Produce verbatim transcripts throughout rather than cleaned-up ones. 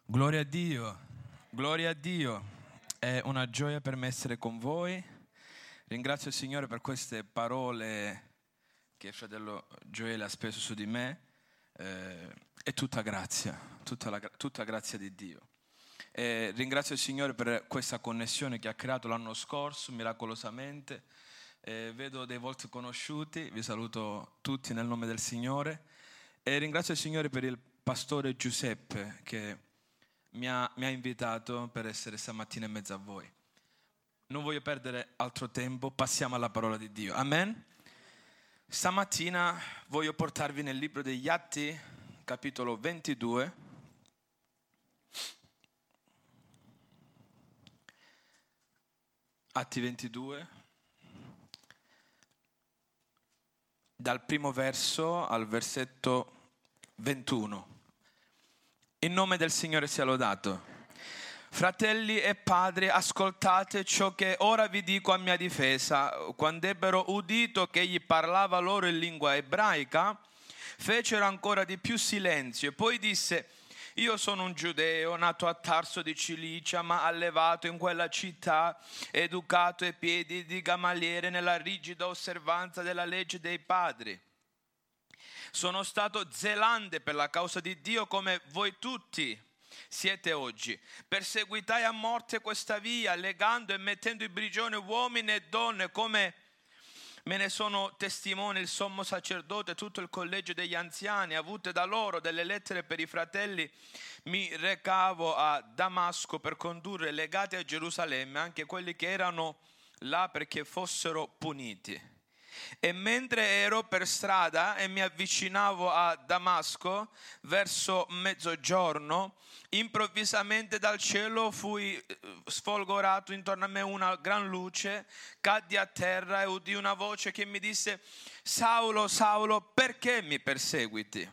Gloria a Dio, gloria a Dio, è una gioia per me essere con voi. Ringrazio il Signore per queste parole che il fratello Gioele ha speso su di me. Eh, è tutta grazia, tutta, la, tutta grazia di Dio. E ringrazio il Signore per questa connessione che ha creato l'anno scorso, miracolosamente. Eh, vedo dei volti conosciuti, vi saluto tutti nel nome del Signore. E ringrazio il Signore per il pastore Giuseppe che Mi ha, mi ha invitato per essere stamattina in mezzo a voi. Non voglio perdere altro tempo, passiamo alla parola di Dio. Amen. Stamattina voglio portarvi nel libro degli Atti, capitolo ventidue. Atti ventidue, dal primo verso al versetto ventuno. In nome del Signore sia lodato. Fratelli e padri, ascoltate ciò che ora vi dico a mia difesa. Quando ebbero udito che egli parlava loro in lingua ebraica, fecero ancora di più silenzio. Poi disse: io sono un giudeo, nato a Tarso di Cilicia, ma allevato in quella città, educato ai piedi di Gamaliele nella rigida osservanza della legge dei padri. Sono stato zelante per la causa di Dio come voi tutti siete oggi. Perseguitai a morte questa via, legando e mettendo in prigione uomini e donne, come me ne sono testimone il sommo sacerdote e tutto il collegio degli anziani. Avute da loro delle lettere per i fratelli, mi recavo a Damasco per condurre legati a Gerusalemme anche quelli che erano là perché fossero puniti. E mentre ero per strada e mi avvicinavo a Damasco verso mezzogiorno, improvvisamente dal cielo fui sfolgorato intorno a me una gran luce, caddi a terra e udì una voce che mi disse: Saulo, Saulo, perché mi perseguiti?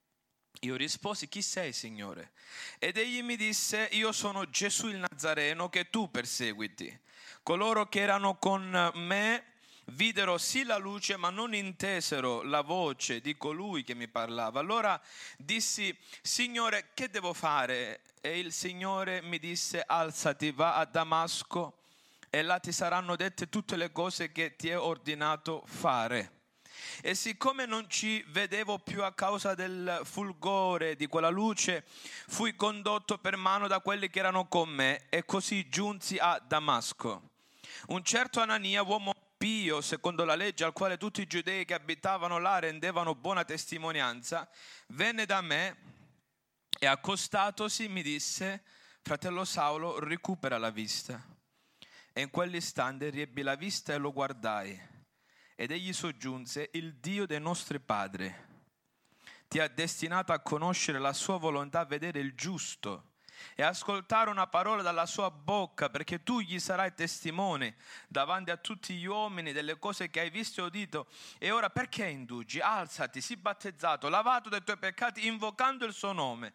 Io risposi: chi sei, Signore? Ed egli mi disse: io sono Gesù il Nazareno che tu perseguiti. Coloro che erano con me videro sì la luce, ma non intesero la voce di colui che mi parlava. Allora dissi: Signore, che devo fare? E il Signore mi disse: alzati, va a Damasco e là ti saranno dette tutte le cose che ti è ordinato fare. E siccome non ci vedevo più a causa del fulgore di quella luce, fui condotto per mano da quelli che erano con me e così giunsi a Damasco. Un certo Anania, uomo pio secondo la legge, al quale tutti i giudei che abitavano là rendevano buona testimonianza, venne da me e accostatosi mi disse: fratello Saulo, recupera la vista. E in quell'istante riebbi la vista e lo guardai. Ed egli soggiunse: il Dio dei nostri padri ti ha destinato a conoscere la sua volontà, a vedere il giusto e ascoltare una parola dalla sua bocca, perché tu gli sarai testimone davanti a tutti gli uomini delle cose che hai visto e udito. E ora perché indugi? Alzati, sii battezzato, lavato dai tuoi peccati, invocando il suo nome.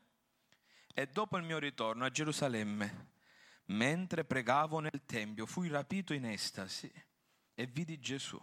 E dopo il mio ritorno a Gerusalemme, mentre pregavo nel tempio, fui rapito in estasi e vidi Gesù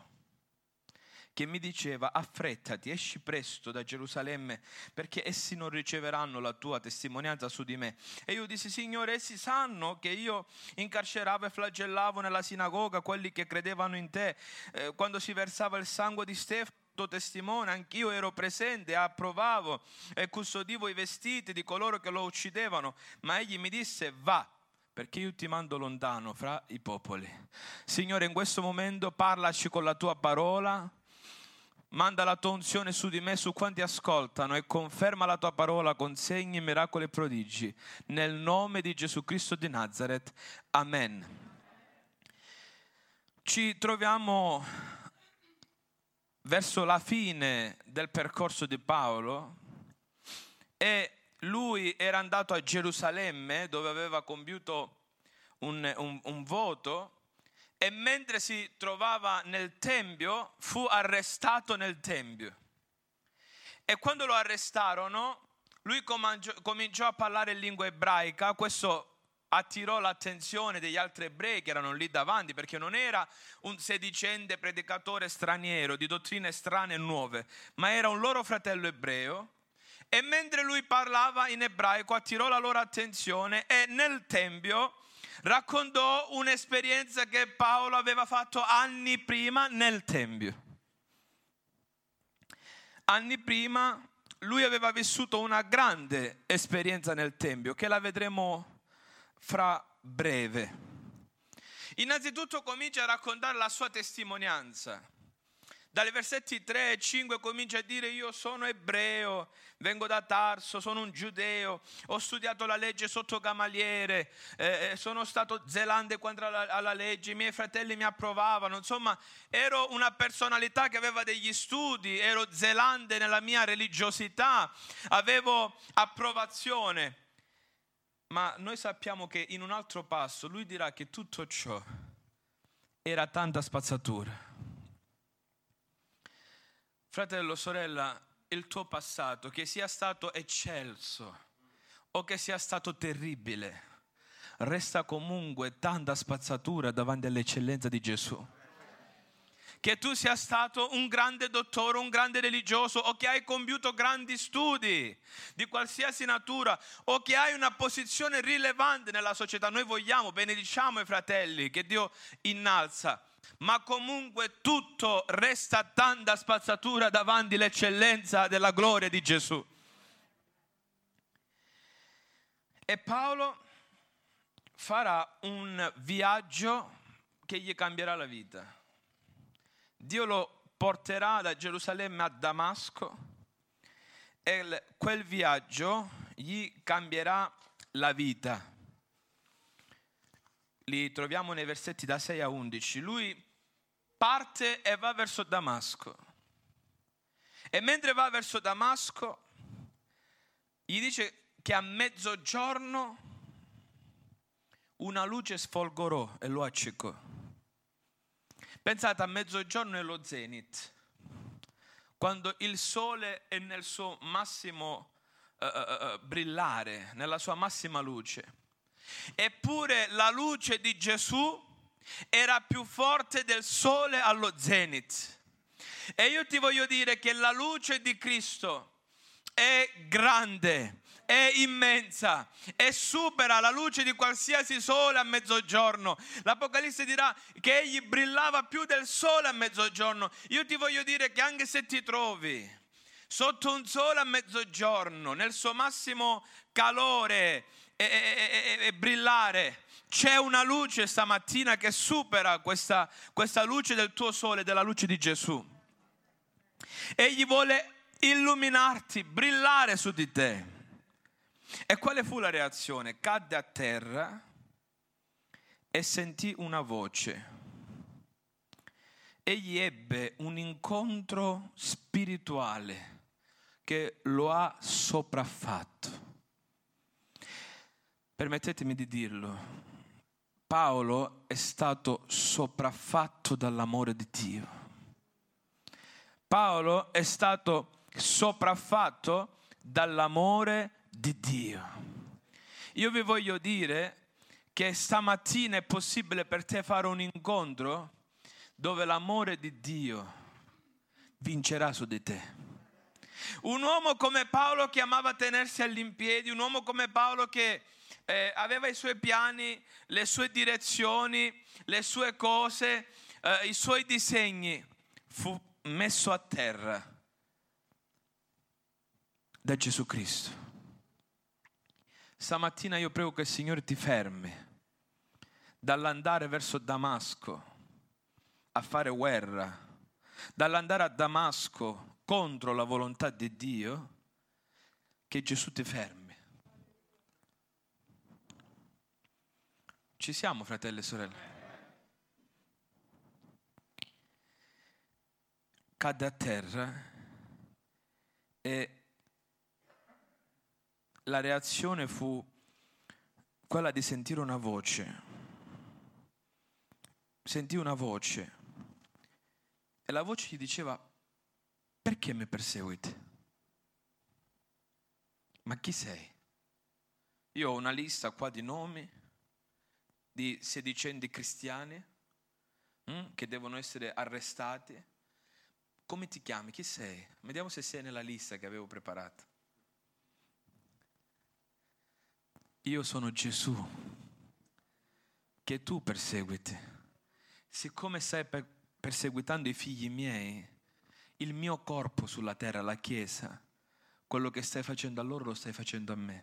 che mi diceva: affrettati, esci presto da Gerusalemme, perché essi non riceveranno la tua testimonianza su di me. E io dissi: Signore, essi sanno che io incarceravo e flagellavo nella sinagoga quelli che credevano in te. Eh, quando si versava il sangue di Stefano, tuo testimone, anch'io ero presente, approvavo e custodivo i vestiti di coloro che lo uccidevano. Ma egli mi disse: va, perché io ti mando lontano fra i popoli. Signore, in questo momento parlaci con la tua parola. Manda la tua unzione su di me, su quanti ascoltano, e conferma la tua parola con segni, miracoli e prodigi. Nel nome di Gesù Cristo di Nazaret. Amen. Ci troviamo verso la fine del percorso di Paolo e lui era andato a Gerusalemme, dove aveva compiuto un, un, un voto. E mentre si trovava nel tempio, fu arrestato nel tempio. E quando lo arrestarono, lui cominciò a parlare in lingua ebraica. Questo attirò l'attenzione degli altri ebrei che erano lì davanti, perché non era un sedicente predicatore straniero di dottrine strane e nuove, ma era un loro fratello ebreo. E mentre lui parlava in ebraico attirò la loro attenzione e nel tempio raccontò un'esperienza che Paolo aveva fatto anni prima nel tempio. Anni prima lui aveva vissuto una grande esperienza nel tempio, che la vedremo fra breve. Innanzitutto comincia a raccontare la sua testimonianza. Dai versetti tre e cinque comincia a dire: io sono ebreo, vengo da Tarso, sono un giudeo, ho studiato la legge sotto Gamaliele, eh, sono stato zelante quanto alla, alla legge, i miei fratelli mi approvavano, insomma ero una personalità che aveva degli studi, ero zelante nella mia religiosità, avevo approvazione. Ma noi sappiamo che in un altro passo lui dirà che tutto ciò era tanta spazzatura. Fratello, sorella, il tuo passato, che sia stato eccelso o che sia stato terribile, resta comunque tanta spazzatura davanti all'eccellenza di Gesù. Che tu sia stato un grande dottore, un grande religioso, o che hai compiuto grandi studi di qualsiasi natura, o che hai una posizione rilevante nella società, noi vogliamo, benediciamo i fratelli che Dio innalza, ma comunque tutto resta tanta spazzatura davanti all'eccellenza della gloria di Gesù. E Paolo farà un viaggio che gli cambierà la vita. Dio lo porterà da Gerusalemme a Damasco e quel viaggio gli cambierà la vita. Li troviamo nei versetti da sei a undici. Lui parte e va verso Damasco. E mentre va verso Damasco, gli dice che a mezzogiorno una luce sfolgorò e lo accecò. Pensate, a mezzogiorno è lo zenit, quando il sole è nel suo massimo uh, uh, brillare, nella sua massima luce. Eppure la luce di Gesù era più forte del sole allo zenit. E io ti voglio dire che la luce di Cristo è grande, è immensa e supera la luce di qualsiasi sole a mezzogiorno. L'Apocalisse dirà che egli brillava più del sole a mezzogiorno. Io ti voglio dire che anche se ti trovi sotto un sole a mezzogiorno, nel suo massimo calore e, e, e, e brillare, c'è una luce stamattina che supera questa, questa luce del tuo sole, della luce di Gesù. Egli vuole illuminarti, brillare su di te. E quale fu la reazione? Cadde a terra e sentì una voce. Egli ebbe un incontro spirituale che lo ha sopraffatto. Permettetemi di dirlo, Paolo è stato sopraffatto dall'amore di Dio. Paolo è stato sopraffatto dall'amore di Dio. Io vi voglio dire che stamattina è possibile per te fare un incontro dove l'amore di Dio vincerà su di te. Un uomo come Paolo che amava tenersi all'impiedi, un uomo come Paolo che eh, aveva i suoi piani, le sue direzioni, le sue cose, eh, i suoi disegni, fu messo a terra da Gesù Cristo. Stamattina io prego che il Signore ti fermi dall'andare verso Damasco a fare guerra, dall'andare a Damasco contro la volontà di Dio, che Gesù ti fermi. Ci siamo, fratelli e sorelle? Cadde a terra e la reazione fu quella di sentire una voce. Sentì una voce e la voce gli diceva: perché mi perseguiti? Ma chi sei? Io ho una lista qua di nomi di sedicenti cristiani hm, che devono essere arrestati. Come ti chiami? Chi sei? Vediamo se sei nella lista che avevo preparato. io sono Gesù che tu perseguiti. Siccome stai per- perseguitando i figli miei, il mio corpo sulla terra, la Chiesa, quello che stai facendo a loro lo stai facendo a me.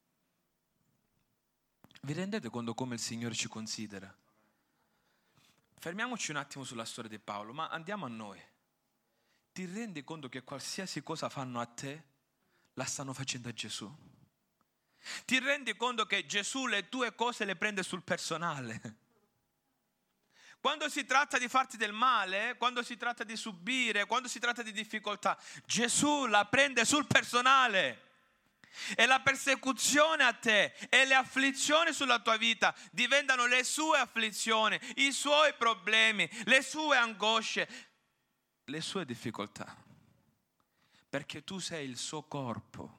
Vi rendete conto come il Signore ci considera? Fermiamoci un attimo sulla storia di Paolo, ma andiamo a noi. Ti rendi conto che qualsiasi cosa fanno a te, la stanno facendo a Gesù? Ti rendi conto che Gesù le tue cose le prende sul personale? Quando si tratta di farti del male, quando si tratta di subire, quando si tratta di difficoltà, Gesù la prende sul personale. E la persecuzione a te e le afflizioni sulla tua vita diventano le sue afflizioni, i suoi problemi, le sue angosce, le sue difficoltà. Perché tu sei il suo corpo.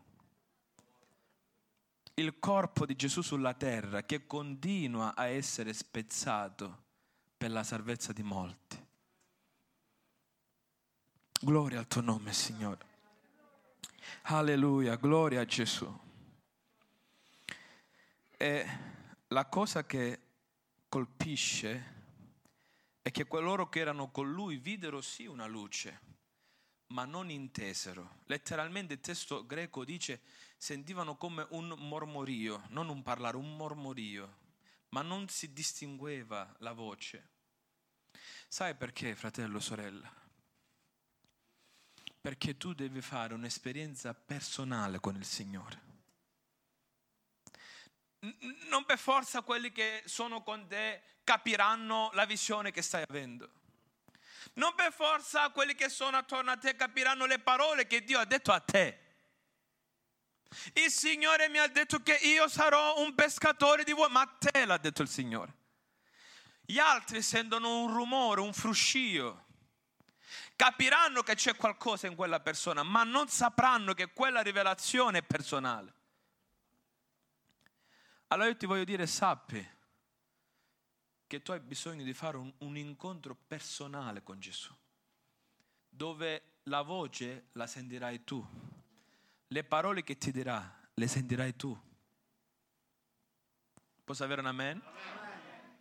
Il corpo di Gesù sulla terra che continua a essere spezzato per la salvezza di molti. Gloria al tuo nome, Signore. Alleluia, gloria a Gesù. E la cosa che colpisce è che coloro che erano con lui videro sì una luce, ma non intesero. Letteralmente il testo greco dice sentivano come un mormorio, non un parlare, un mormorio, ma non si distingueva la voce. Sai perché, fratello, sorella? Perché tu devi fare un'esperienza personale con il Signore. Non per forza quelli che sono con te capiranno la visione che stai avendo. Non per forza quelli che sono attorno a te capiranno le parole che Dio ha detto a te. Il Signore mi ha detto che io sarò un pescatore di uomini, ma a te l'ha detto il Signore. Gli altri sentono un rumore, un fruscio. Capiranno che c'è qualcosa in quella persona, ma non sapranno che quella rivelazione è personale. Allora io ti voglio dire, sappi che tu hai bisogno di fare un, un incontro personale con Gesù, dove la voce la sentirai tu, le parole che ti dirà le sentirai tu. Posso avere un amen? Amen.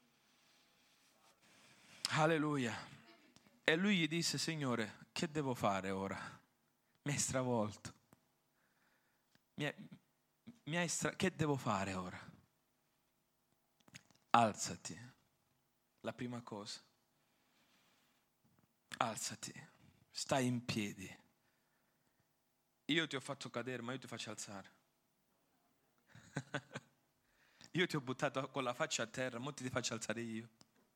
Alleluia. E lui gli disse, Signore, che devo fare ora? Mi hai stravolto. Mi hai, mi hai stra... Che devo fare ora? Alzati. La prima cosa. Alzati. Stai in piedi. Io ti ho fatto cadere, ma io ti faccio alzare. Io ti ho buttato con la faccia a terra, ma ti faccio alzare io.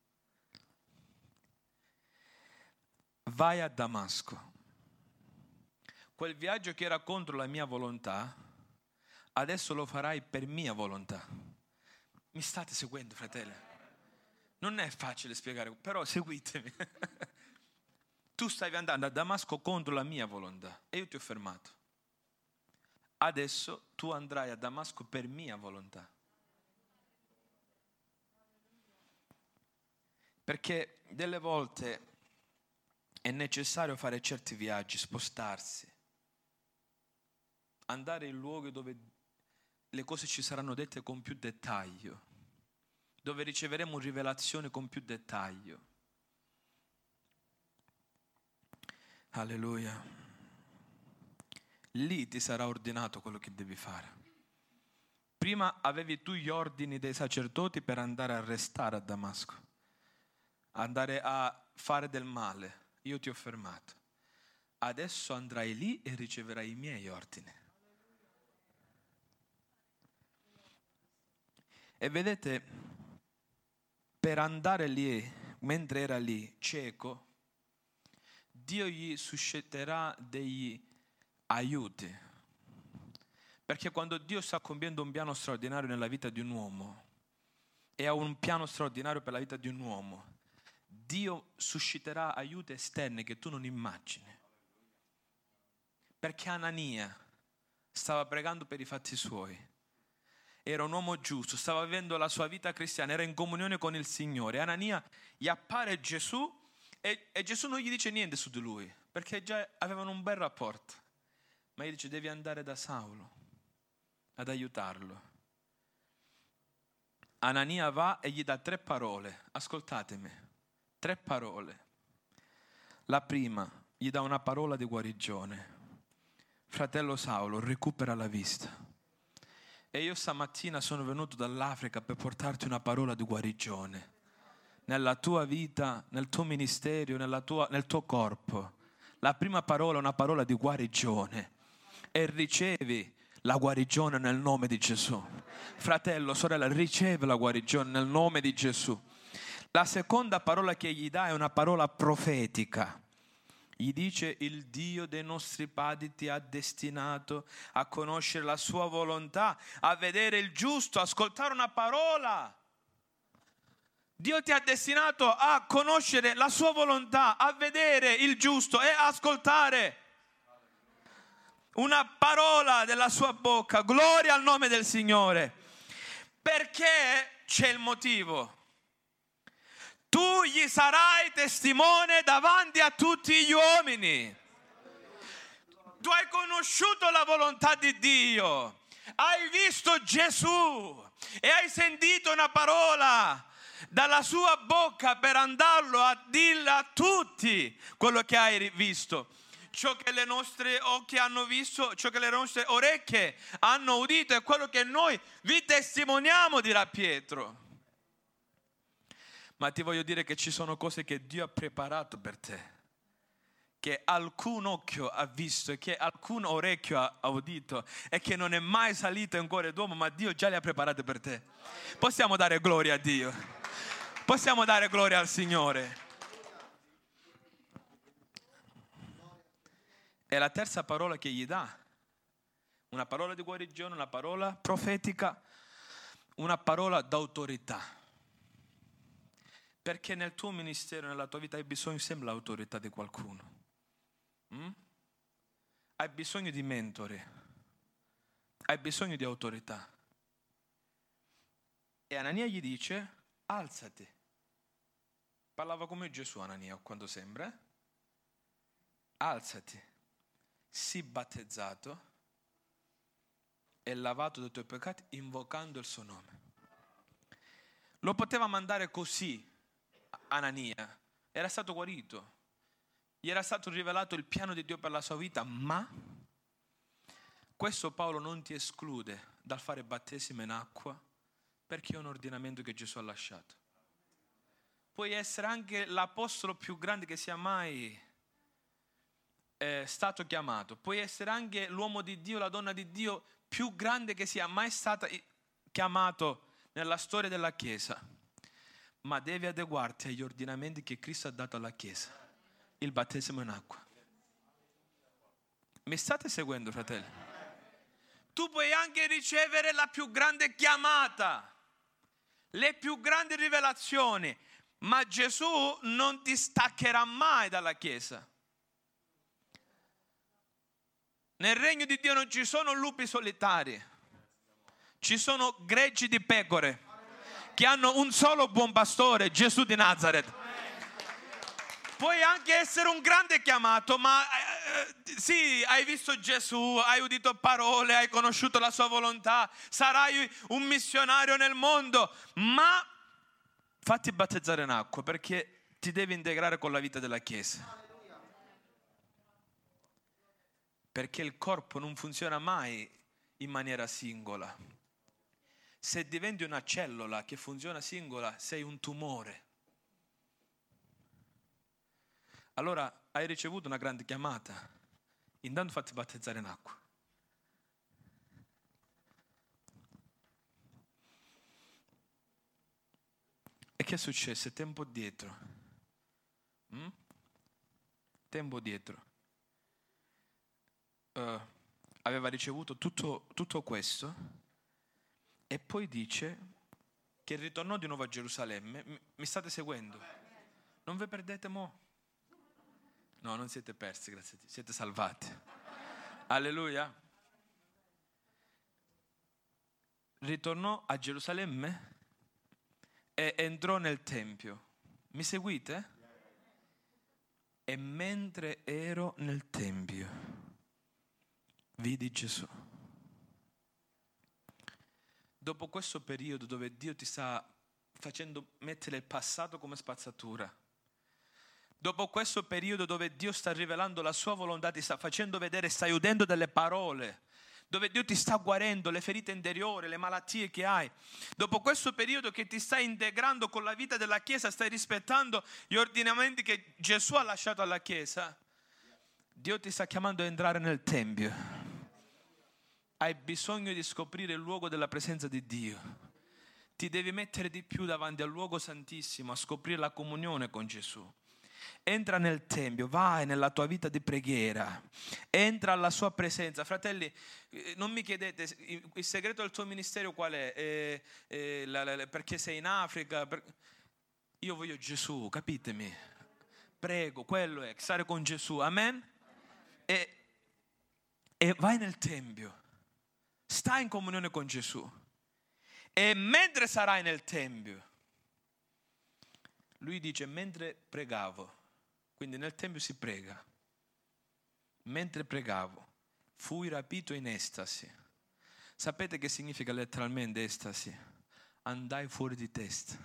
Vai a Damasco. Quel viaggio che era contro la mia volontà, adesso lo farai per mia volontà. Mi state seguendo, fratelli? Non è facile spiegare, però seguitemi. Tu stavi andando a Damasco contro la mia volontà e io ti ho fermato. Adesso tu andrai a Damasco per mia volontà. Perché delle volte è necessario fare certi viaggi, spostarsi, andare in luoghi dove le cose ci saranno dette con più dettaglio, dove riceveremo rivelazione con più dettaglio. Alleluia. Lì ti sarà ordinato quello che devi fare. Prima avevi tu gli ordini dei sacerdoti per andare a restare a Damasco, andare a fare del male. Io ti ho fermato. Adesso andrai lì e riceverai i miei ordini. E vedete, per andare lì, mentre era lì, cieco, Dio gli susciterà degli aiuti. Perché quando Dio sta compiendo un piano straordinario nella vita di un uomo e ha un piano straordinario per la vita di un uomo, Dio susciterà aiuti esterni che tu non immagini. Perché Anania stava pregando per i fatti suoi. Era un uomo giusto, stava vivendo la sua vita cristiana, era in comunione con il Signore. Anania gli appare Gesù e, e Gesù non gli dice niente su di lui, perché già avevano un bel rapporto. Ma gli dice, devi andare da Saulo ad aiutarlo. Anania va e gli dà tre parole, ascoltatemi, tre parole. La prima, gli dà una parola di guarigione. Fratello Saulo, recupera la vista. E io stamattina sono venuto dall'Africa per portarti una parola di guarigione. Nella tua vita, nel tuo ministero, nella tua, nel tuo corpo. La prima parola è una parola di guarigione. E ricevi la guarigione nel nome di Gesù. Fratello, sorella, riceve la guarigione nel nome di Gesù. La seconda parola che gli dà è una parola profetica. Gli dice: il Dio dei nostri padri ti ha destinato a conoscere la sua volontà, a vedere il giusto, ascoltare una parola. Dio ti ha destinato a conoscere la sua volontà, a vedere il giusto e ascoltare una parola della sua bocca. Gloria al nome del Signore. Perché c'è il motivo. Tu gli sarai testimone davanti a tutti gli uomini. Tu hai conosciuto la volontà di Dio, hai visto Gesù e hai sentito una parola dalla sua bocca per andarlo a dirlo a tutti quello che hai visto. Ciò che le nostre occhi hanno visto, ciò che le nostre orecchie hanno udito è quello che noi vi testimoniamo, dirà Pietro. Ma ti voglio dire che ci sono cose che Dio ha preparato per te, che alcun occhio ha visto e che alcun orecchio ha udito e che non è mai salito in cuore d'uomo, ma Dio già le ha preparate per te. Possiamo dare gloria a Dio. Possiamo dare gloria al Signore. E la terza parola che gli dà, una parola di guarigione, una parola profetica, una parola d'autorità. Perché nel tuo ministero, nella tua vita hai bisogno sempre dell'autorità di qualcuno. Mm? Hai bisogno di mentori. Hai bisogno di autorità. E Anania gli dice: alzati. Parlava come Gesù Anania, quando sembra. Alzati. Sii battezzato e lavato dai tuoi peccati invocando il suo nome. Lo poteva mandare così. Anania era stato guarito, gli era stato rivelato il piano di Dio per la sua vita, ma questo Paolo non ti esclude dal fare battesimo in acqua, perché è un ordinamento che Gesù ha lasciato. Puoi essere anche l'apostolo più grande che sia mai eh, stato chiamato, puoi essere anche l'uomo di Dio, la donna di Dio più grande che sia mai stata chiamato nella storia della Chiesa. Ma devi adeguarti agli ordinamenti che Cristo ha dato alla Chiesa. Il battesimo in acqua. Mi state seguendo, fratelli? Tu puoi anche ricevere la più grande chiamata, le più grandi rivelazioni, ma Gesù non ti staccherà mai dalla Chiesa. Nel regno di Dio non ci sono lupi solitari, ci sono greggi di pecore che hanno un solo buon pastore, Gesù di Nazaret. Puoi anche essere un grande chiamato, ma eh, sì, hai visto Gesù, hai udito parole, hai conosciuto la sua volontà, sarai un missionario nel mondo, ma fatti battezzare in acqua, perché ti devi integrare con la vita della Chiesa. Perché il corpo non funziona mai in maniera singola. Se diventi una cellula che funziona singola, sei un tumore. Allora hai ricevuto una grande chiamata, intanto fatti battezzare in acqua. E che è successo? Tempo dietro. Mm? Tempo dietro. Uh, aveva ricevuto tutto, tutto questo. E poi dice che ritornò di nuovo a Gerusalemme. Mi state seguendo? Non vi perdete mo'? No, non siete persi, grazie a Dio. Siete salvati. Alleluia. Ritornò a Gerusalemme e entrò nel Tempio. Mi seguite? E mentre ero nel Tempio, vidi Gesù. dopo questo periodo dove Dio ti sta facendo mettere il passato come spazzatura, dopo questo periodo dove Dio sta rivelando la sua volontà, ti sta facendo vedere, stai udendo delle parole, dove Dio ti sta guarendo le ferite interiori, le malattie che hai, dopo questo periodo che ti stai integrando con la vita della Chiesa, stai rispettando gli ordinamenti che Gesù ha lasciato alla Chiesa, Dio ti sta chiamando a entrare nel Tempio. Hai bisogno di scoprire il luogo della presenza di Dio. Ti devi mettere di più davanti al luogo santissimo, a scoprire la comunione con Gesù. Entra nel Tempio, vai nella tua vita di preghiera, entra alla sua presenza. Fratelli, non mi chiedete il segreto del tuo ministero qual è, eh, eh, la, la, perché sei in Africa. Per... Io voglio Gesù, capitemi. Prego, quello è, stare con Gesù, amen? E, e vai nel Tempio, stai in comunione con Gesù. E mentre sarai nel Tempio, lui dice, mentre pregavo, quindi nel Tempio si prega, mentre pregavo, fui rapito in estasi. Sapete che significa letteralmente estasi? Andai fuori di testa.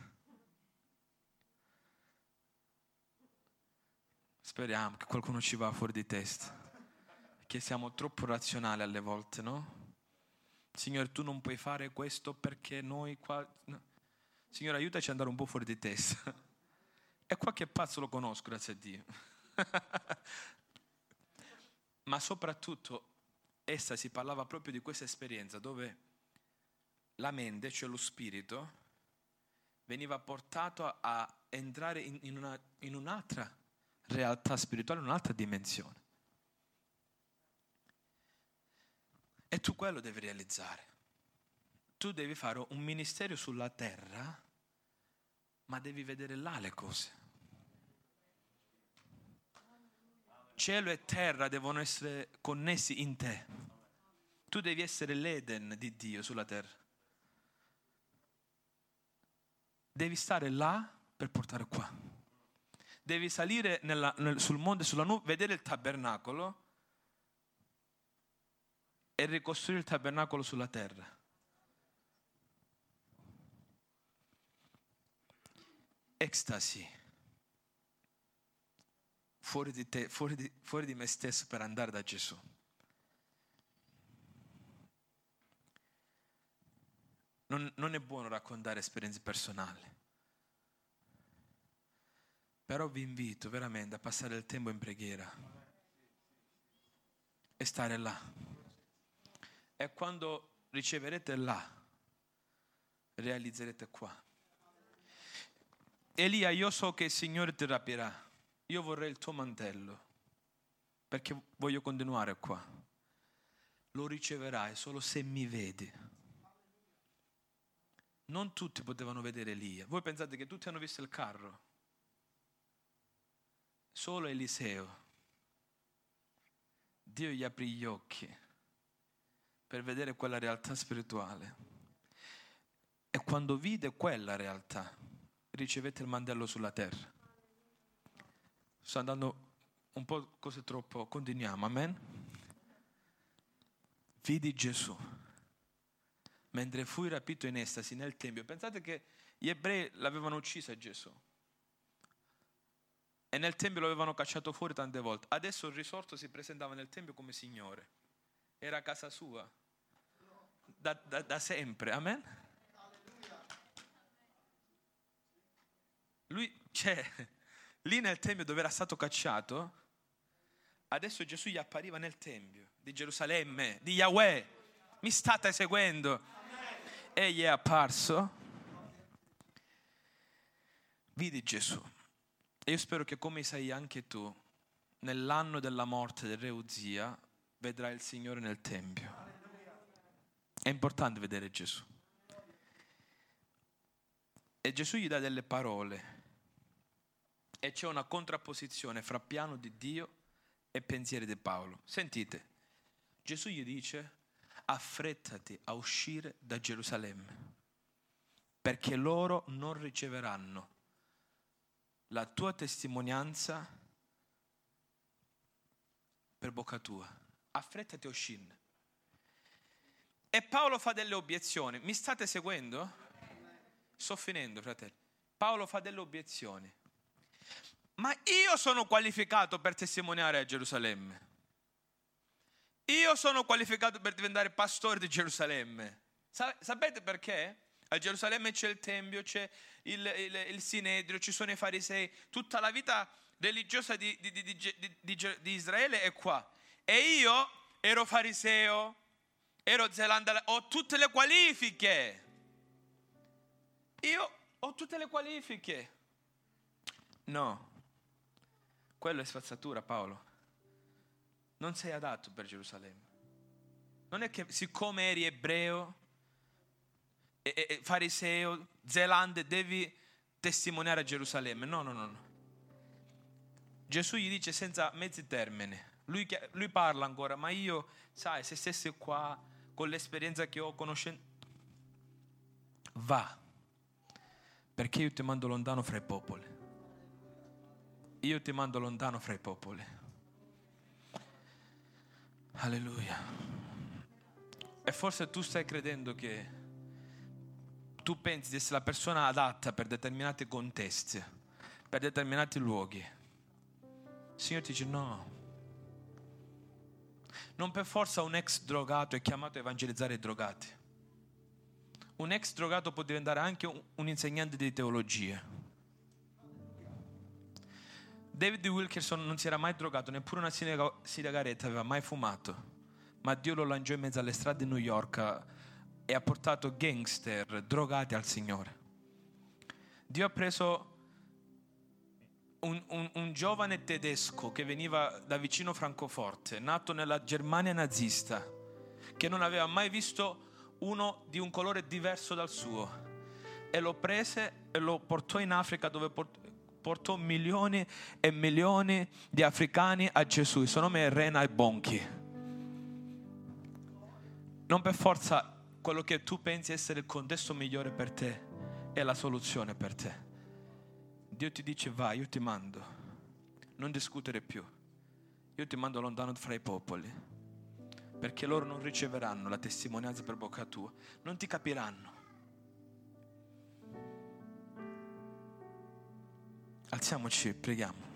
Speriamo che qualcuno ci va fuori di testa, perché siamo troppo razionali alle volte, no? Signore, tu non puoi fare questo perché noi qua... No. Signore, aiutaci ad andare un po' fuori di testa. E qualche pazzo lo conosco, grazie a Dio. Ma soprattutto, essa si parlava proprio di questa esperienza dove la mente, cioè lo spirito, veniva portato a, a entrare in, in, una, in un'altra realtà spirituale, in un'altra dimensione. E tu quello devi realizzare. Tu devi fare un ministero sulla terra, ma devi vedere là le cose. Cielo e terra devono essere connessi in te. Tu devi essere l'Eden di Dio sulla terra. Devi stare là per portare qua. Devi salire nella, nel, sul monte, sulla nube, vedere il tabernacolo e ricostruire il tabernacolo sulla terra. Ecstasy. Fuori di te, fuori di, fuori di me stesso per andare da Gesù. Non, non è buono raccontare esperienze personali, però vi invito veramente a passare il tempo in preghiera e stare là. E quando riceverete là, realizzerete qua. Elia, io so che il Signore ti rapirà. Io vorrei il tuo mantello, perché voglio continuare qua. Lo riceverai solo se mi vedi. Non tutti potevano vedere Elia. Voi pensate che tutti hanno visto il carro? Solo Eliseo. Dio gli aprì gli occhi per vedere quella realtà spirituale. E quando vide quella realtà, ricevette il mantello sulla terra. Sto andando un po' cose troppo, continuiamo, amen? Vidi Gesù mentre fui rapito in estasi nel Tempio. Pensate che gli ebrei l'avevano ucciso a Gesù e nel Tempio lo avevano cacciato fuori tante volte. Adesso il risorto si presentava nel Tempio come Signore. Era casa sua da, da, da sempre, amen? Lui c'è lì nel Tempio dove era stato cacciato. Adesso Gesù gli appariva nel Tempio di Gerusalemme, di Yahweh. Mi state seguendo? E gli è apparso. Vidi Gesù. E io spero che come sai anche tu, nell'anno della morte del re Uzia, vedrai il Signore nel Tempio. È importante vedere Gesù. E Gesù gli dà delle parole. E c'è una contrapposizione fra piano di Dio e pensieri di Paolo. Sentite, Gesù gli dice: affrettati a uscire da Gerusalemme, perché loro non riceveranno la tua testimonianza per bocca tua. Affrettati a uscirne. E Paolo fa delle obiezioni. Mi state seguendo? Sto finendo, fratelli. Paolo fa delle obiezioni. Ma io sono qualificato per testimoniare a Gerusalemme. Io sono qualificato per diventare pastore di Gerusalemme. Sapete perché? A Gerusalemme c'è il Tempio, c'è il, il, il Sinedrio, ci sono i farisei. Tutta la vita religiosa di, di, di, di, di, di Israele è qua. E io ero fariseo, ero zelanda, ho tutte le qualifiche. Io ho tutte le qualifiche. No, quello è spazzatura, Paolo. Non sei adatto per Gerusalemme. Non è che siccome eri ebreo, e, e, fariseo, zelande, devi testimoniare a Gerusalemme. No, no, no, no. Gesù gli dice senza mezzi termini. Lui, lui parla ancora, ma io, sai, se stessi qua con l'esperienza che ho, conoscendo, va, perché io ti mando lontano fra i popoli. Io ti mando lontano fra i popoli. Alleluia. E forse tu stai credendo che tu pensi di essere la persona adatta per determinati contesti, per determinati luoghi. Il Signore ti dice no. Non per forza un ex drogato è chiamato a evangelizzare i drogati. Un ex drogato può diventare anche un, un insegnante di teologia. David Wilkerson non si era mai drogato, neppure una sigaretta aveva mai fumato, ma Dio lo lanciò in mezzo alle strade di New York e ha portato gangster, drogati al Signore. Dio ha preso un, un, un giovane tedesco che veniva da vicino Francoforte, nato nella Germania nazista, che non aveva mai visto uno di un colore diverso dal suo, e lo prese e lo portò in Africa, dove portò portò milioni e milioni di africani a Gesù. Il suo nome è Reinhard Bonnke. Non per forza quello che tu pensi essere il contesto migliore per te è la soluzione per te. Dio ti dice vai, io ti mando, non discutere più, io ti mando lontano fra i popoli, perché loro non riceveranno la testimonianza per bocca tua, non ti capiranno. Alziamoci, preghiamo.